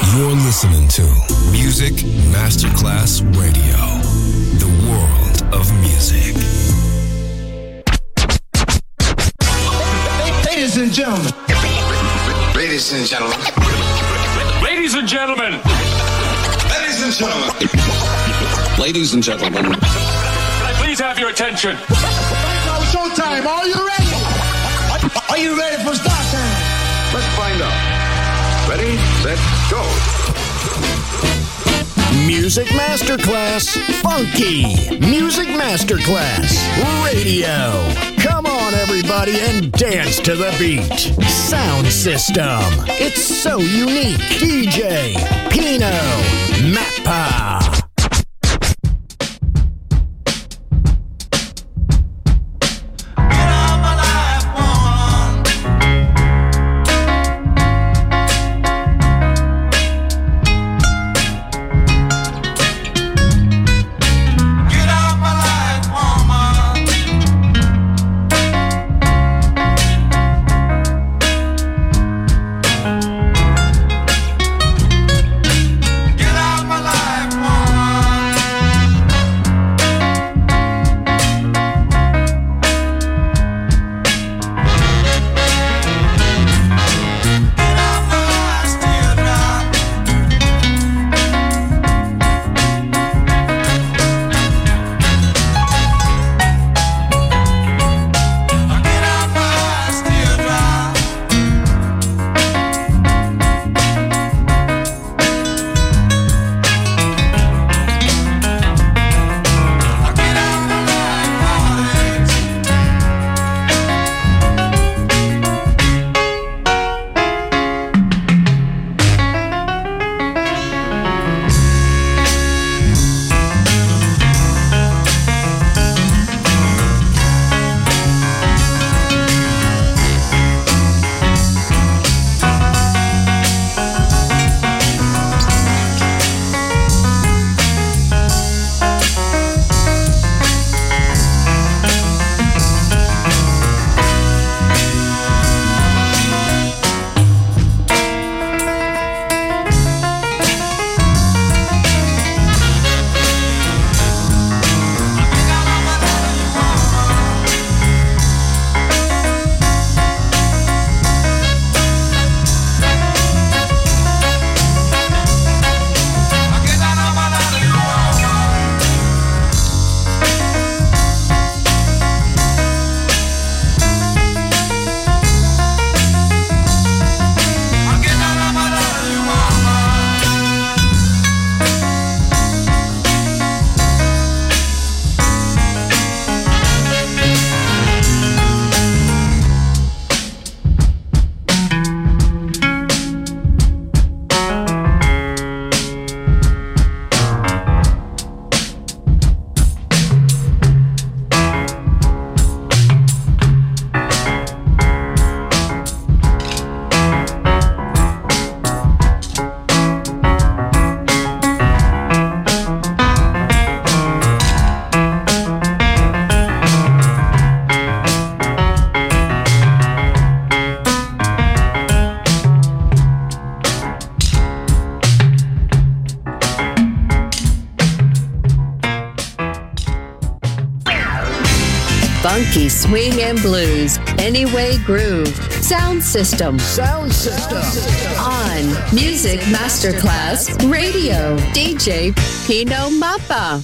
You're listening to Music Masterclass Radio, the world of music. Ladies and gentlemen. Ladies and gentlemen. Ladies and gentlemen. Ladies and gentlemen. Ladies and gentlemen. Can I please have your attention? Now showtime. Are you ready? Are you ready for start time? Let's find out. Ready, set, go. Music Masterclass Funky. Music Masterclass Radio. Come on, everybody, and dance to the beat. Sound system. It's so unique. DJ Pino Mappa. Funky swing and blues, Anyway Groove, Sound System. Sound system. On Music Masterclass Radio, DJ Pino Mappa.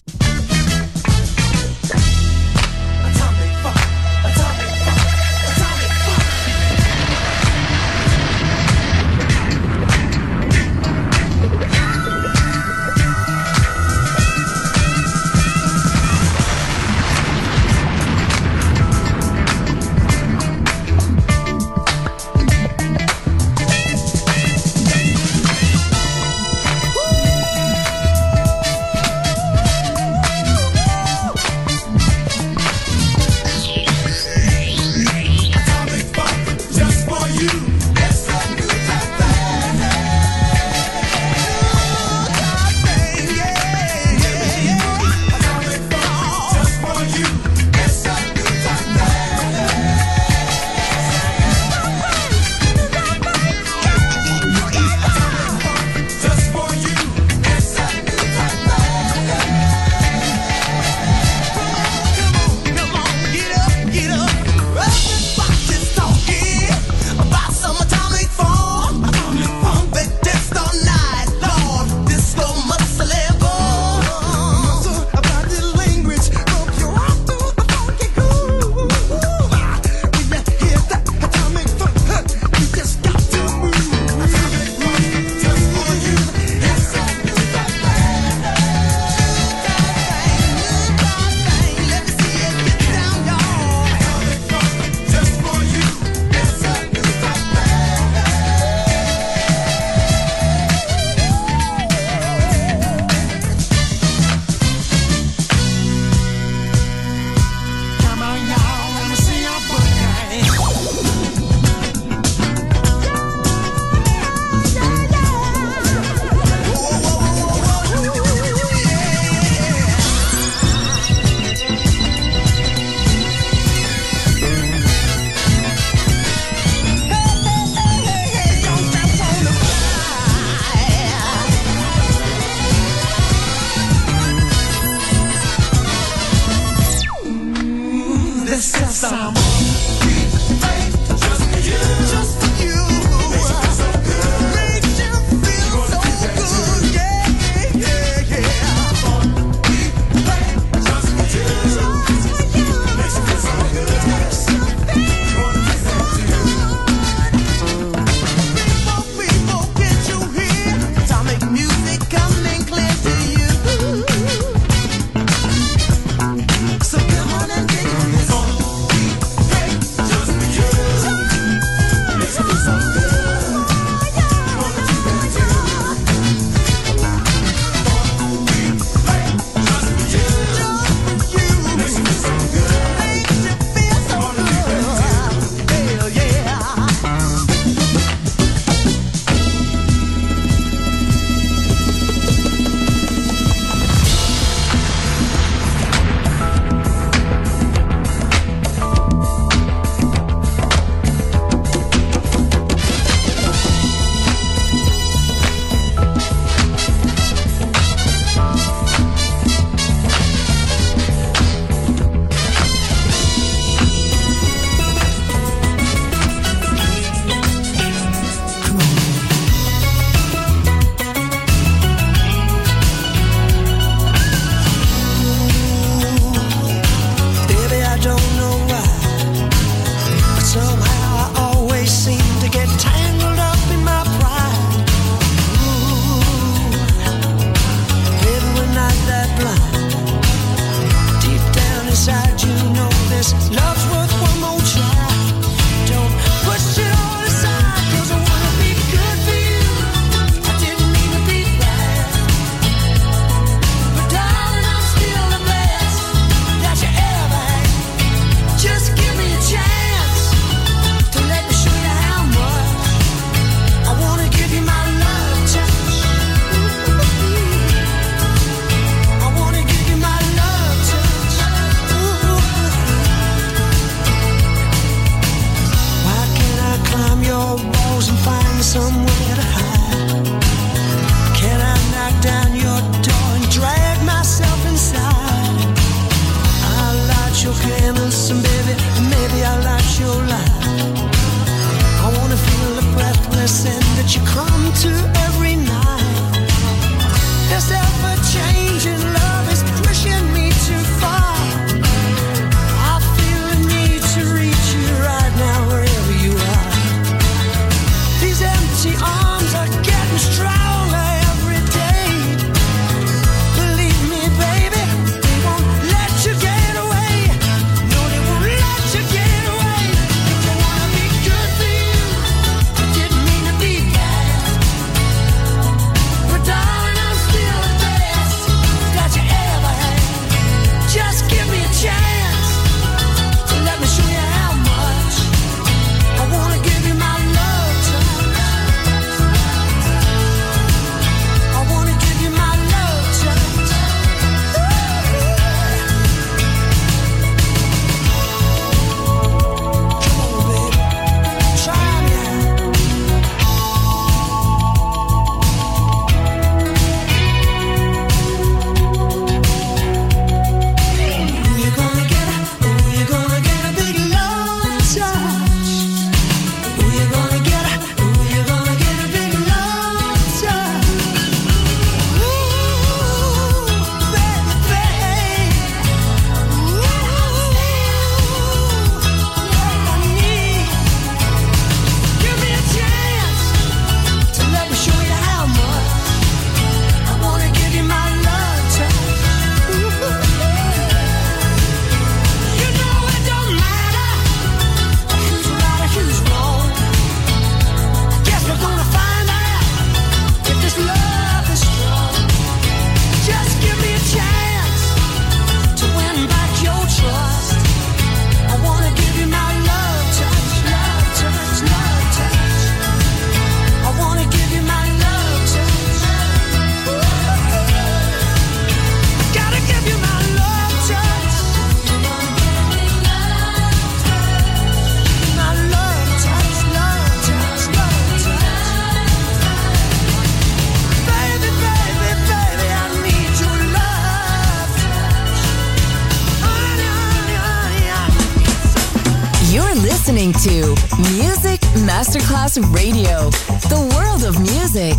listening to Music Masterclass Radio, the world of music.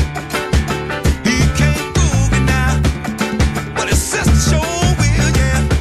Sure will, yeah.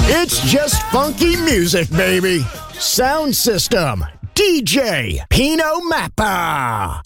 It's just funky music, baby. Sound system, DJ Pino Mappa.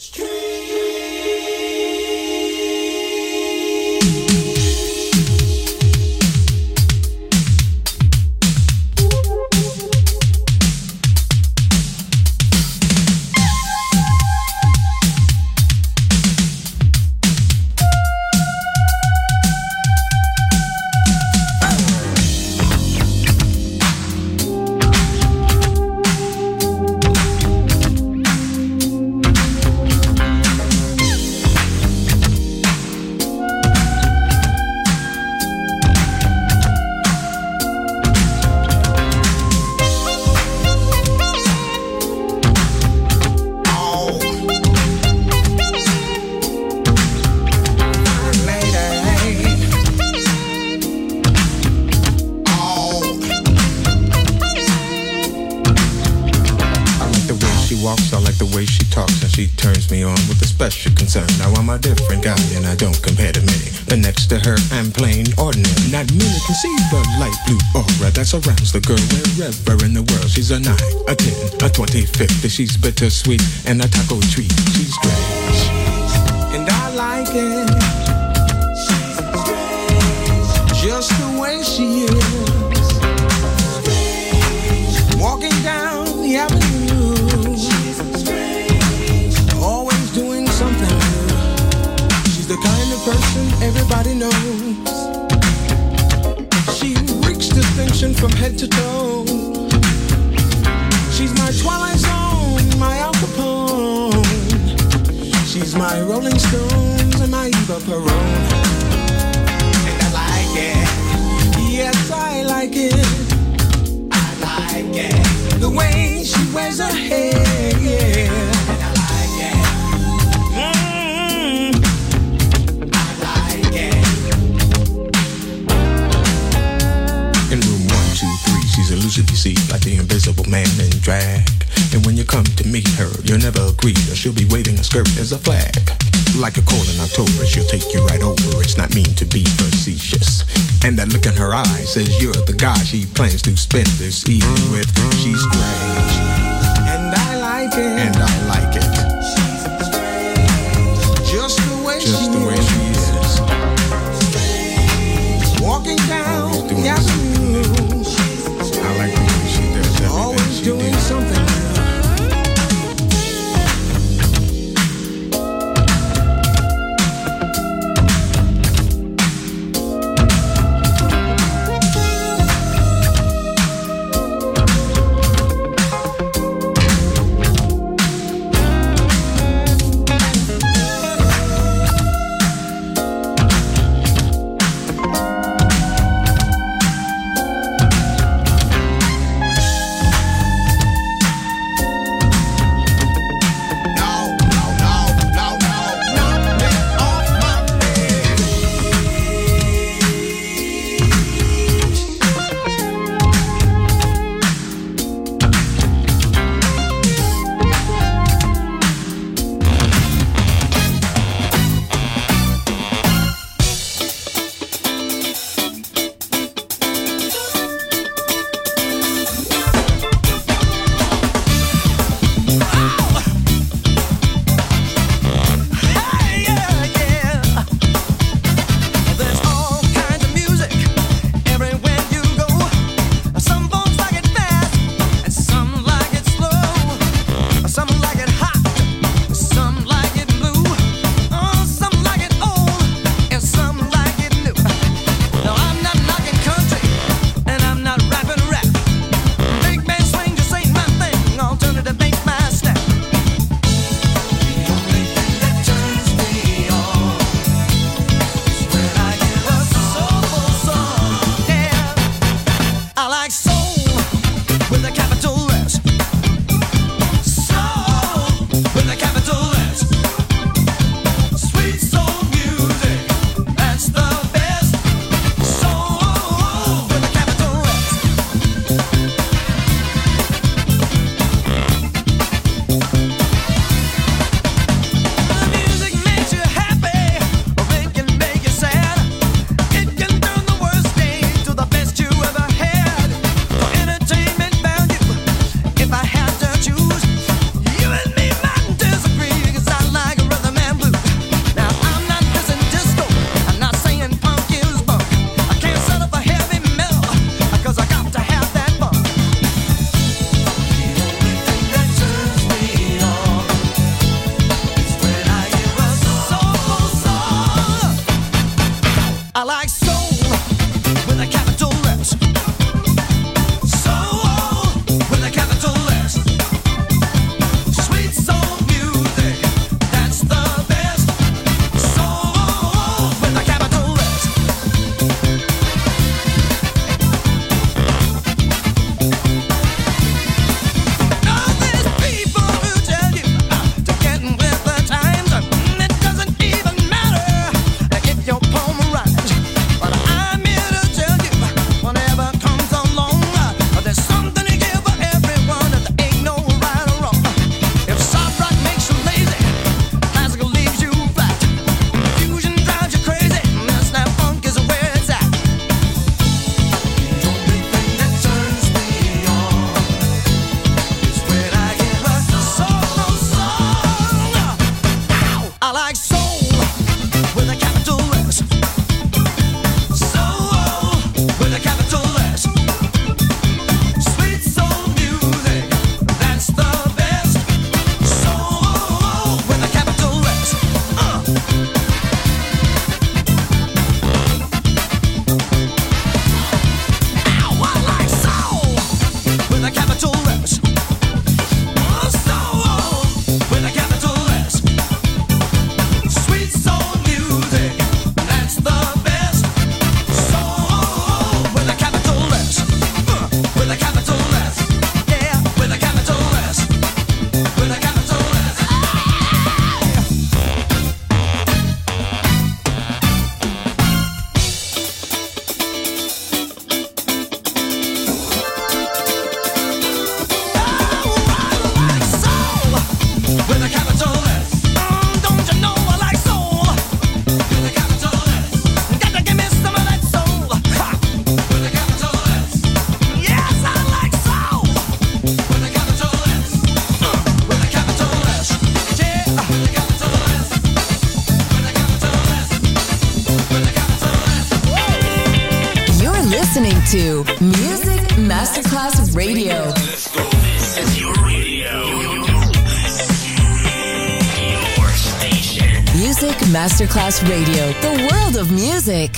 She turns me on with a special concern. Now I'm a different guy and I don't compare to many. But next to her I'm plain ordinary. Not many can see the light blue aura that surrounds the girl wherever in the world. She's a 9, a 10, a 20, 50. She's bittersweet and a taco treat. She's strange and I like it. She's strange, just the way she is. Strange. Walking down the avenue, the kind of person everybody knows. She reeks distinction from head to toe. She's my Twilight Zone, my Al Capone. She's my Rolling Stones and my Eva Peron. And I like it, yes I like it. I like it, the way she wears her hair, yeah. She's elusive, you see, like the invisible man in drag. And when you come to meet her, you'll never agree, or she'll be waving a skirt as a flag. Like a cold in October, she'll take you right over. It's not mean to be facetious. And that look in her eyes says you're the guy she plans to spend this evening with. She's strange, and I like it. And I like it. She's strange, just the way she is. Walking down the avenue, I like the way she does everything. Always she doing something new. Music Masterclass Radio. Let's go. This is your radio. Your station. Music Masterclass Radio. The world of music.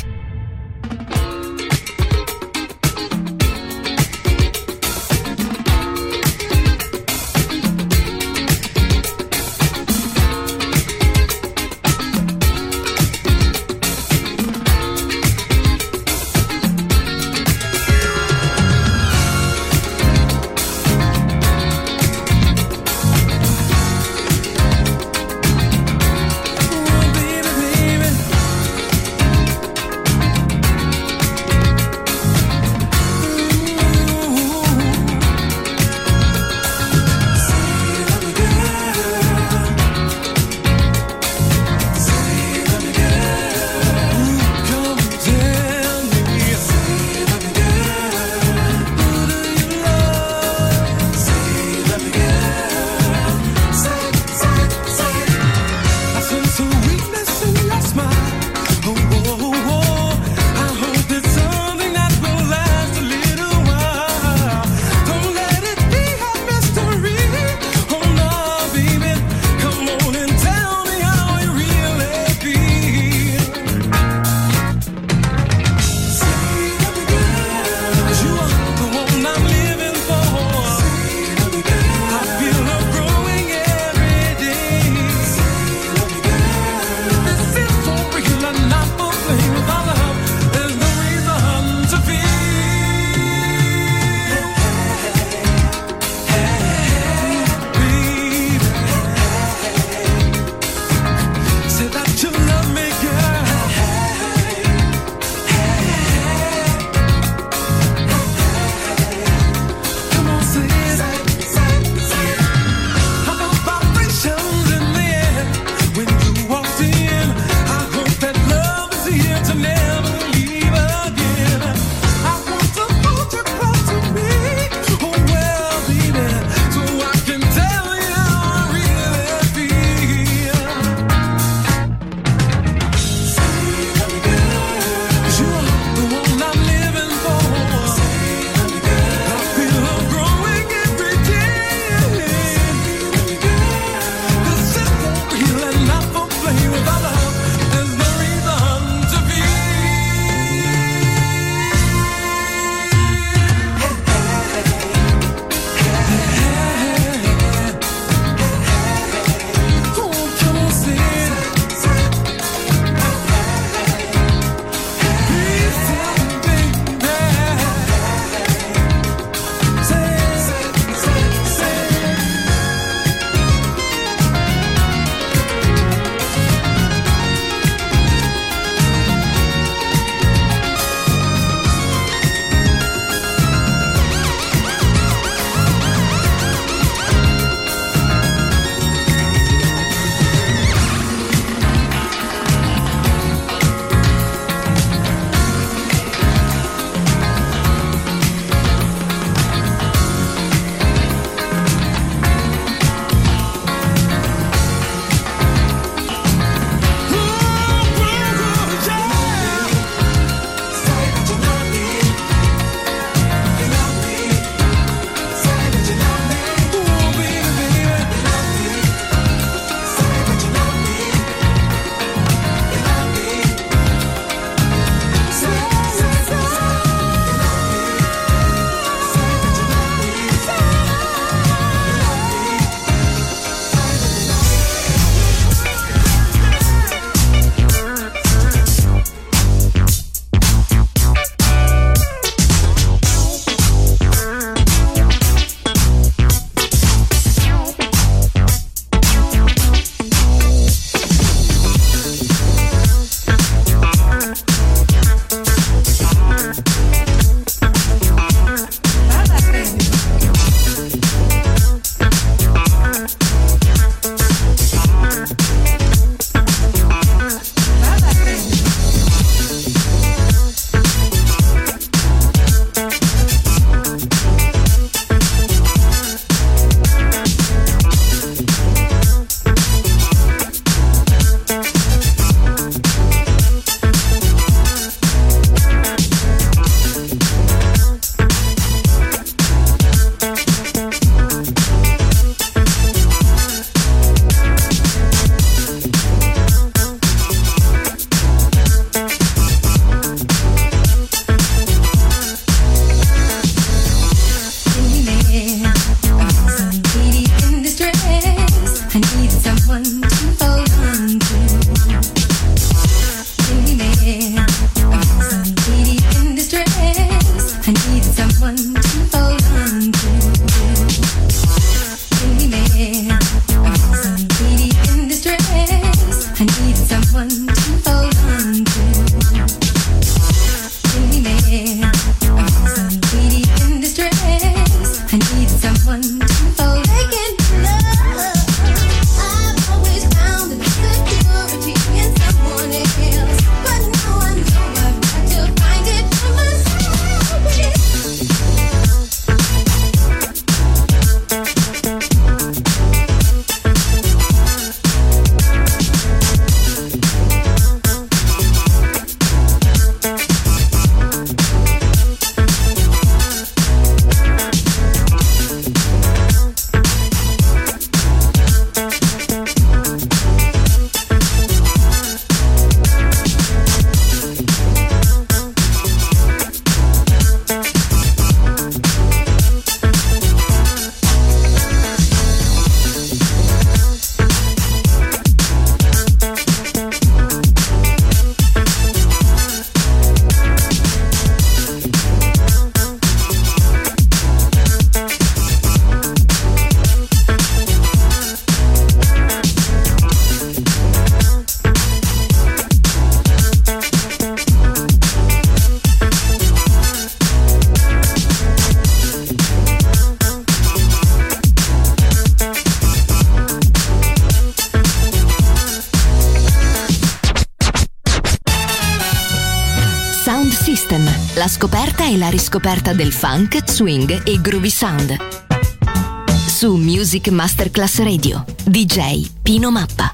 La scoperta e la riscoperta del funk, swing e groovy sound. Su Music Masterclass Radio, DJ Pino Mappa.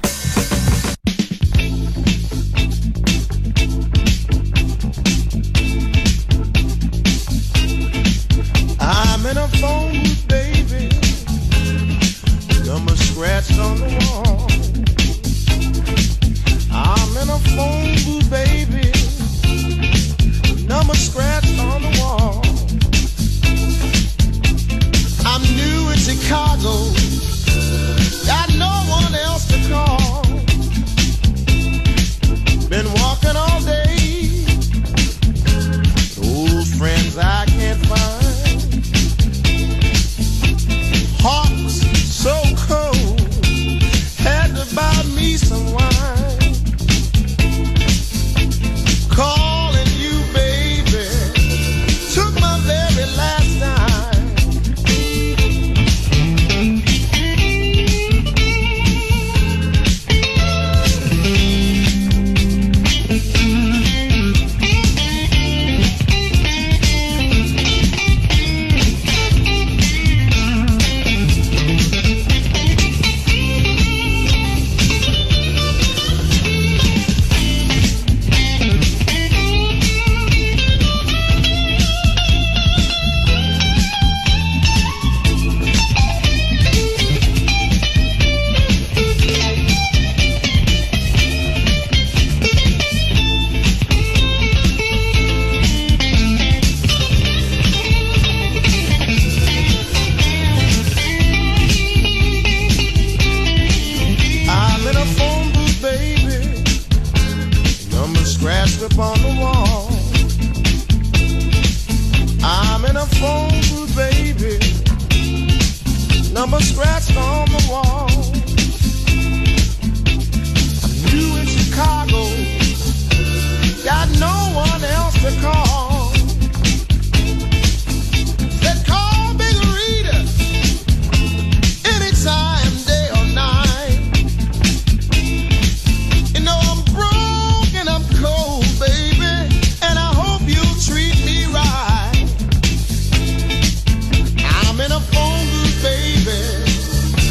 I'm in a phone booth, baby. Number scratched on the wall. I'm in a phone booth, baby. Number scratched on the wall. I'm new in Chicago, got no one else to call. Been walking all day, old friends I can't find. Heart so cold, had to buy me some wine. Calling you, baby, took my very last time. Upon the wall, I'm in a phone booth, baby. Number scratched on the wall. I'm new in Chicago, got no one else to call. They call Big Rita anytime, day or night. You know I'm broke and I'm cold, baby, and I hope you'll treat me right. I'm in a phone booth, baby.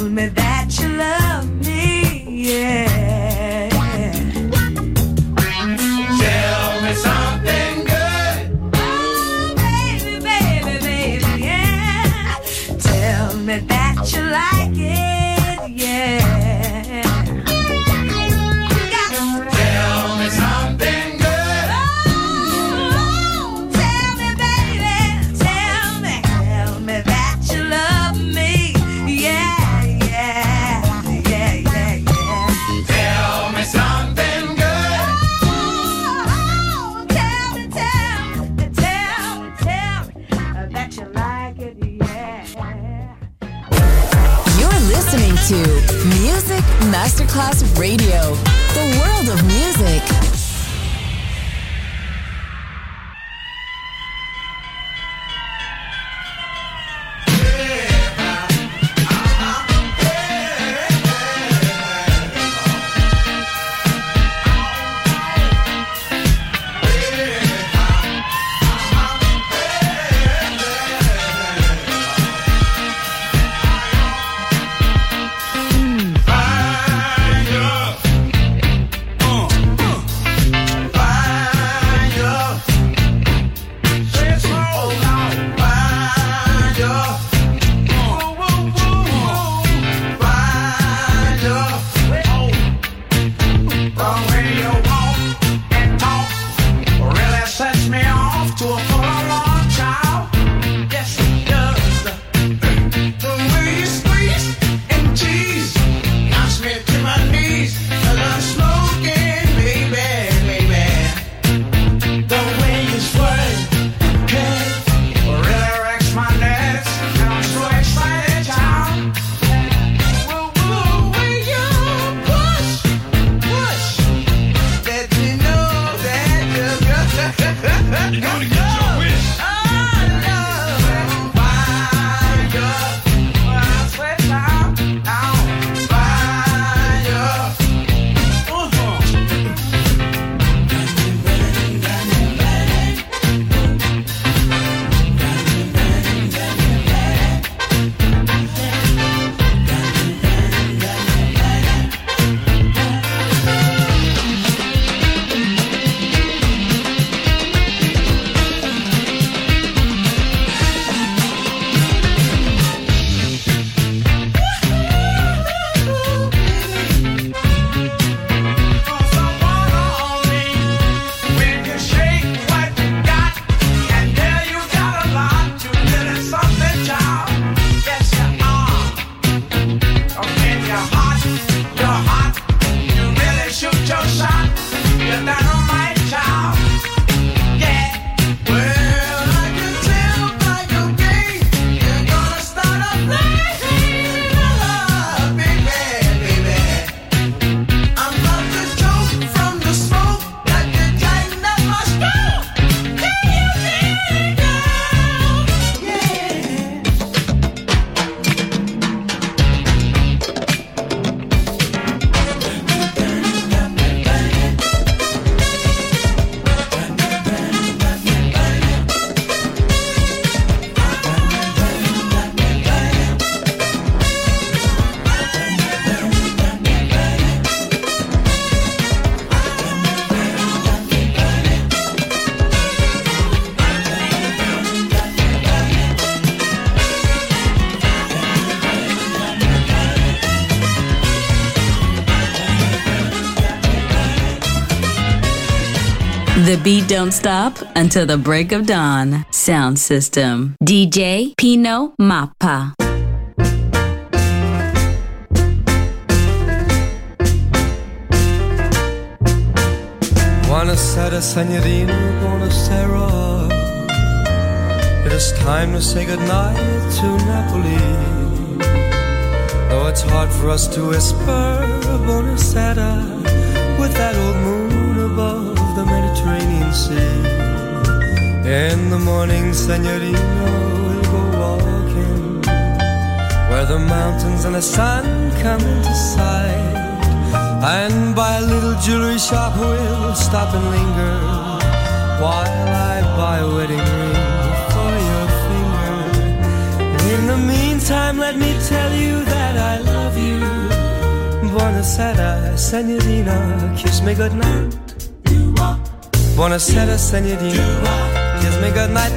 Tell me that you love me, yeah. Tell me something good. Oh, baby, baby, baby, yeah. Tell me that you like it, yeah. Tell me something good. Oh, tell me, baby, tell me that you love me, yeah, yeah, yeah, yeah, yeah. Tell me something good. Oh, tell me that you like it, yeah. You're listening to Music Masterclass Radio, the world of music. The beat don't stop until the break of dawn. Sound system. DJ Pino Mappa. Buonasera, signorina, buonasera. It is time to say goodnight to Napoli. Though it's hard for us to whisper buonasera with that old moon above the Mediterranean Sea. In the morning, signorina, we'll go walking where the mountains and the sun come into sight. And by a little jewelry shop we'll stop and linger while I buy a wedding ring for your finger. In the meantime, meantime, let me tell you that I love you. Buonasera, signorina, kiss me goodnight. Buonasera, signorina, kiss me goodnight.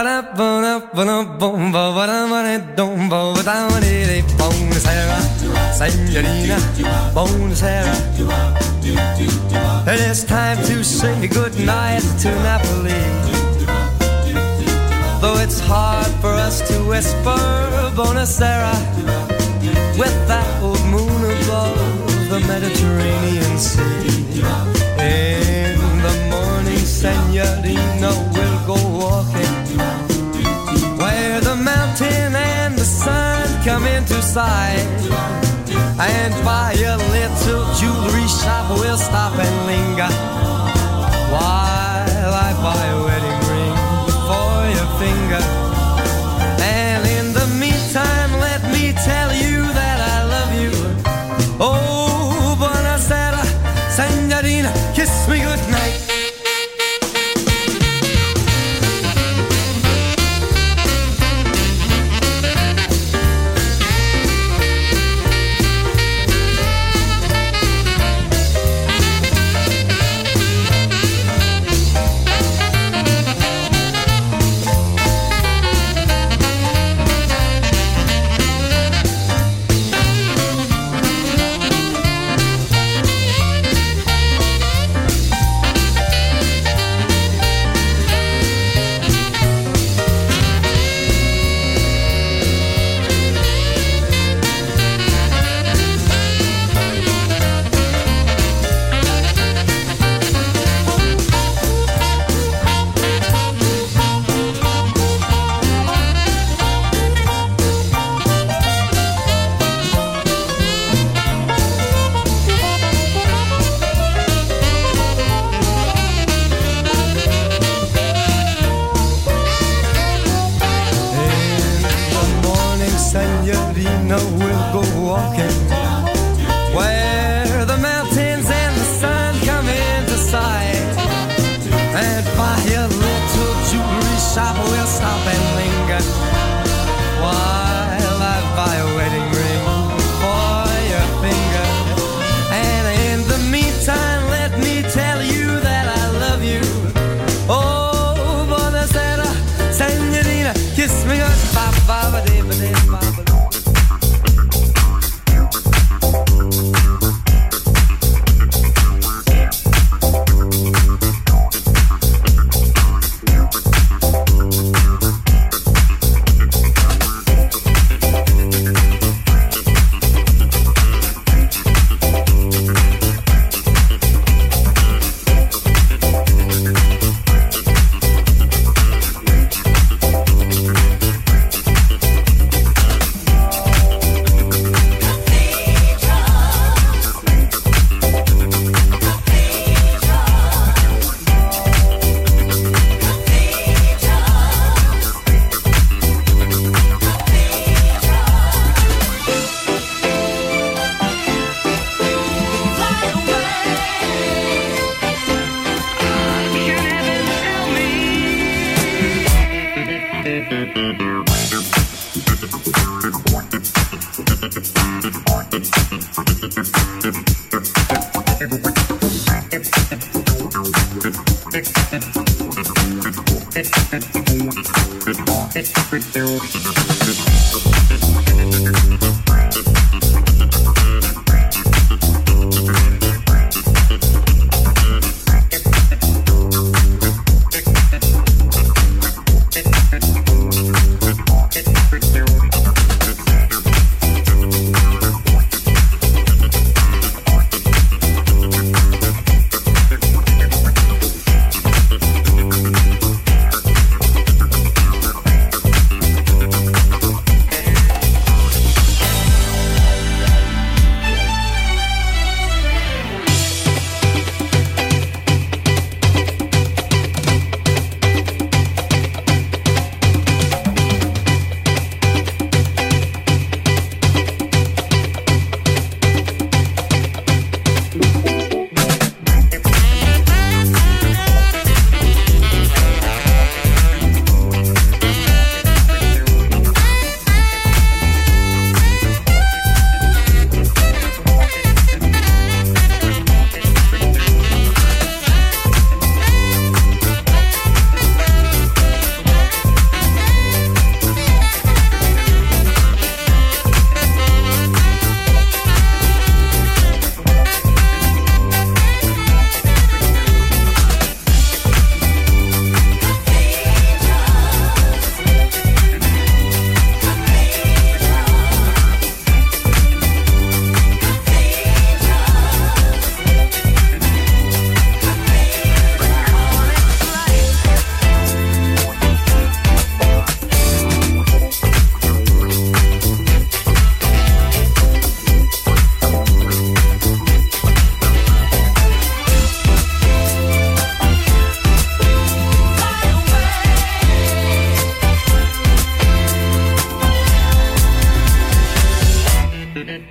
Buonasera, signorina, buonasera. It is time to say goodnight to Napoli. Though it's hard for us to whisper buonasera with that old moon above the Mediterranean Sea. In the morning, signorina, we'll go walking where the mountain and the sun come into sight. And by a little jewelry shop we'll stop and linger while I buy a wedding ring for your finger. And in the meantime, let me tell you that I love you. Oh, buonasera, signorina, kiss me goodnight.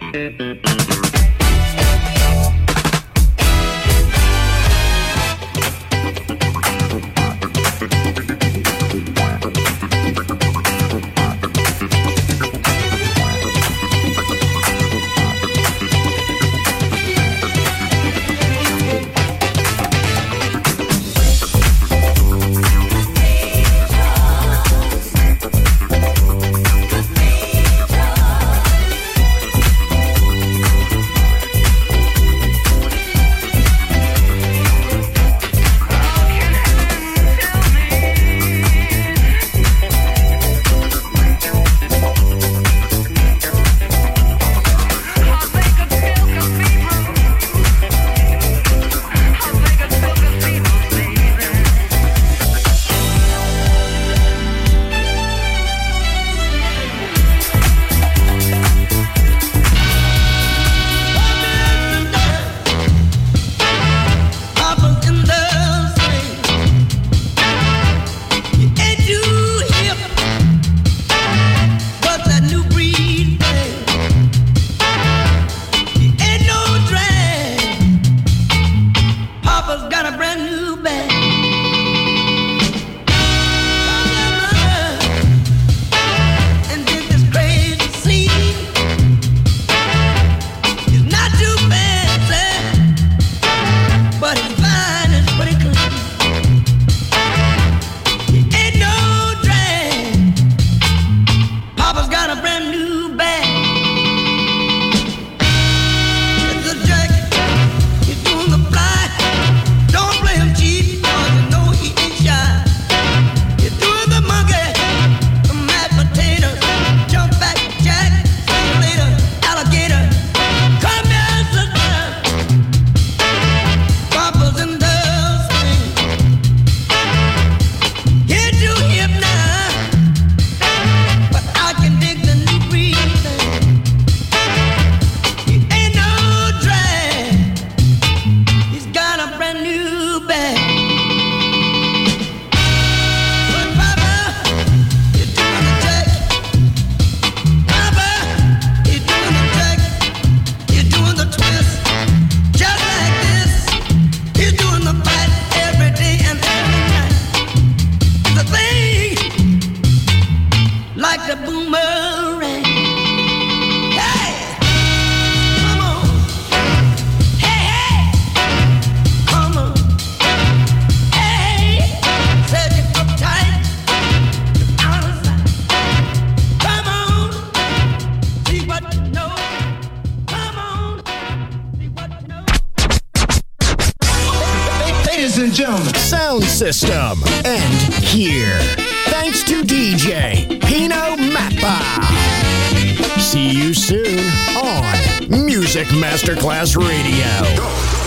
Sound system. And here. Thanks to DJ Pino Mappa. See you soon on Music Masterclass Radio.